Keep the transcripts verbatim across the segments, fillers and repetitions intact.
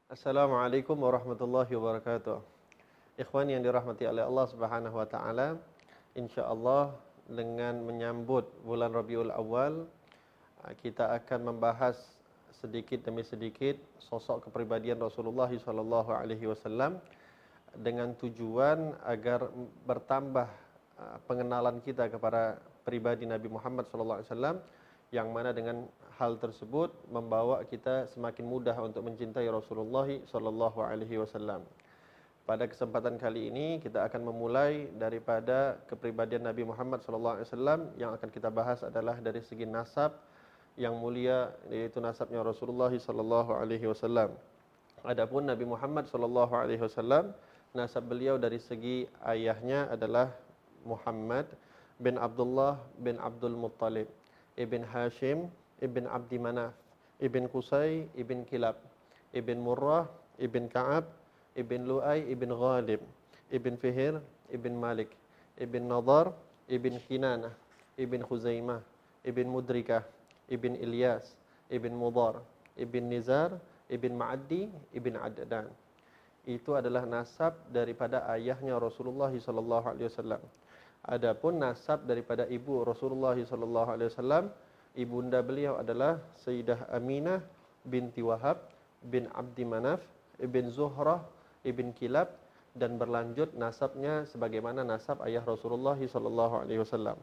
Assalamualaikum warahmatullahi wabarakatuh. Ikhwan yang dirahmati oleh Allah Subhanahu wa taala, insyaallah dengan menyambut bulan Rabiul Awal, kita akan membahas sedikit demi sedikit sosok kepribadian Rasulullah sallallahu alaihi wasallam dengan tujuan agar bertambah uh, pengenalan kita kepada pribadi Nabi Muhammad sallallahu alaihi wasallam, yang mana dengan hal tersebut membawa kita semakin mudah untuk mencintai Rasulullah sallallahu alaihi wasallam. Pada kesempatan kali ini kita akan memulai daripada kepribadian Nabi Muhammad sallallahu alaihi wasallam. Yang akan kita bahas adalah dari segi nasab yang mulia, yaitu nasabnya Rasulullah sallallahu alaihi wasallam. Adapun Nabi Muhammad sallallahu alaihi wasallam, nasab beliau dari segi ayahnya adalah Muhammad bin Abdullah bin Abdul Muttalib, ibn Hashim, ibn Abdi Manaf, ibn Qusay, ibn Kilab, ibn Murrah, ibn Ka'ab, ibn Lu'ay, ibn Ghalib, ibn Fihir, ibn Malik, ibn Nadar, ibn Kinanah, ibn Khuzaimah, ibn Mudrikah, ibn Ilyas, ibn Mudar, ibn Nizar, ibn Ma'addi, ibn Addan. Itu adalah nasab daripada ayahnya Rasulullah sallallahu alaihi wasallam. Adapun nasab daripada ibu Rasulullah sallallahu alaihi wasallam, ibunda beliau adalah Sayyidah Aminah binti Wahab bin Abdi Manaf ibn Zuhrah ibn Kilab, dan berlanjut nasabnya sebagaimana nasab ayah Rasulullah sallallahu alaihi wasallam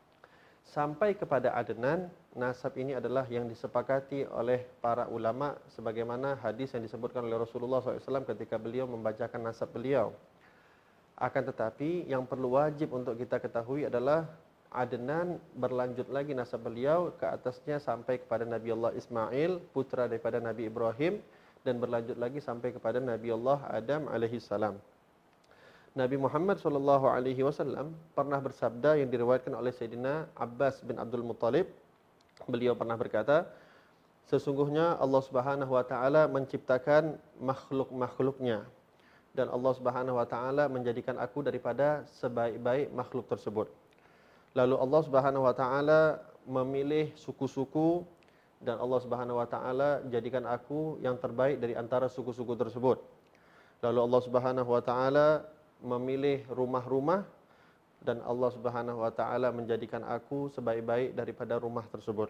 sampai kepada Adnan. Nasab ini adalah yang disepakati oleh para ulama sebagaimana hadis yang disebutkan oleh Rasulullah sallallahu alaihi wasallam ketika beliau membacakan nasab beliau. Akan tetapi yang perlu wajib untuk kita ketahui adalah Adnan berlanjut lagi nasab beliau ke atasnya sampai kepada Nabi Allah Ismail, putra daripada Nabi Ibrahim, dan berlanjut lagi sampai kepada Nabi Allah Adam alaihi salam. Nabi Muhammad sallallahu alaihi wasallam pernah bersabda yang diriwayatkan oleh Sayyidina Abbas bin Abdul Muttalib. Beliau pernah berkata, sesungguhnya Allah Subhanahu wa taala menciptakan makhluk-makhluknya, dan Allah Subhanahu wa taala menjadikan aku daripada sebaik-baik makhluk tersebut. Lalu Allah Subhanahu wa taala memilih suku-suku, dan Allah Subhanahu wa taala jadikan aku yang terbaik dari antara suku-suku tersebut. Lalu Allah Subhanahu wa taala memilih rumah-rumah, dan Allah Subhanahu wa taala menjadikan aku sebaik-baik daripada rumah tersebut.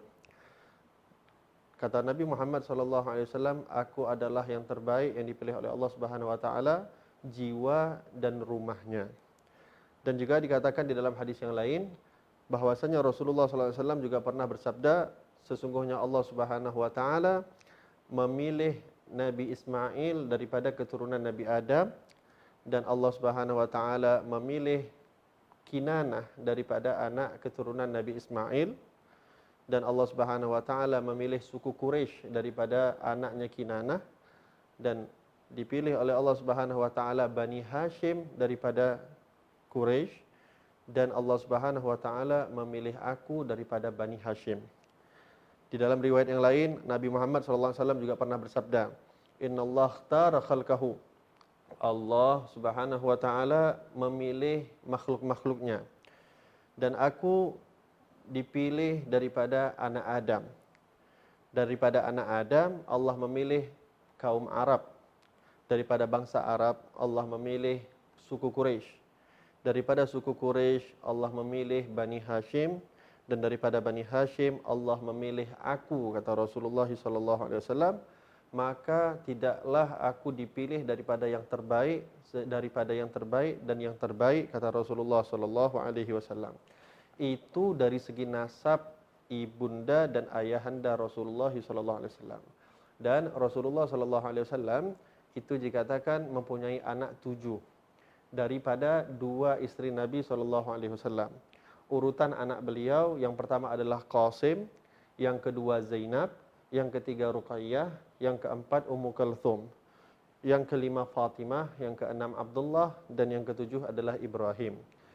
Kata Nabi Muhammad sallallahu alaihi wasallam, aku adalah yang terbaik yang dipilih oleh Allah Subhanahu wa taala, jiwa dan rumahnya. Dan juga dikatakan di dalam hadis yang lain bahwasanya Rasulullah sallallahu alaihi wasallam juga pernah bersabda, sesungguhnya Allah Subhanahu wa taala memilih Nabi Ismail daripada keturunan Nabi Adam, dan Allah Subhanahu wa taala memilih Kinanah daripada anak keturunan Nabi Ismail, dan Allah Subhanahu wa taala memilih suku Quraisy daripada anaknya Kinanah, dan dipilih oleh Allah Subhanahu wa taala Bani Hashim daripada Quraisy, dan Allah Subhanahu wa taala memilih aku daripada Bani Hashim. Di dalam riwayat yang lain, Nabi Muhammad sallallahu alaihi wasallam juga pernah bersabda, "Innallaha ikhtara khalqahu." Allah Subhanahu wa taala memilih makhluk-makhluknya, dan aku dipilih daripada anak Adam. Daripada anak Adam, Allah memilih kaum Arab. Daripada bangsa Arab, Allah memilih suku Quraisy. Daripada suku Quraisy, Allah memilih Bani Hashim, dan daripada Bani Hashim, Allah memilih aku, kata Rasulullah sallallahu alaihi wasallam. Maka tidaklah aku dipilih daripada yang terbaik, daripada yang terbaik dan yang terbaik, kata Rasulullah sallallahu alaihi wasallam. Itu dari segi nasab ibunda dan ayahanda Rasulullah sallallahu alaihi wasallam. Dan Rasulullah sallallahu alaihi wasallam itu dikatakan mempunyai anak tujuh daripada dua istri Nabi sallallahu alaihi wasallam. Urutan anak beliau yang pertama adalah Qasim, yang kedua Zainab, yang ketiga Ruqayyah, yang keempat Ummu Kalthum, yang kelima Fatimah, yang keenam Abdullah, dan yang ketujuh adalah Ibrahim.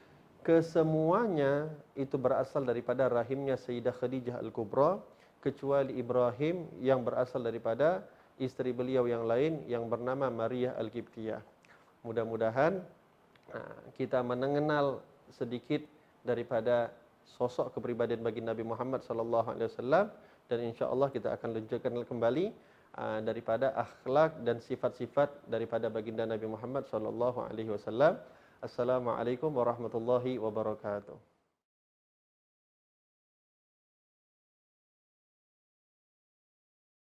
Kesemuanya itu berasal daripada rahimnya Sayyidah Khadijah Al-Kubra, kecuali Ibrahim yang berasal daripada istri beliau yang lain yang bernama Maria Al-Qibtiyah. Mudah-mudahan kita mengenal sedikit daripada sosok kepribadian bagi Nabi Muhammad sallallahu alaihi wasallam, dan insyaallah kita akan lanjutkan kembali uh, daripada akhlak dan sifat-sifat daripada baginda Nabi Muhammad sallallahu alaihi wasallam. Assalamualaikum warahmatullahi wabarakatuh.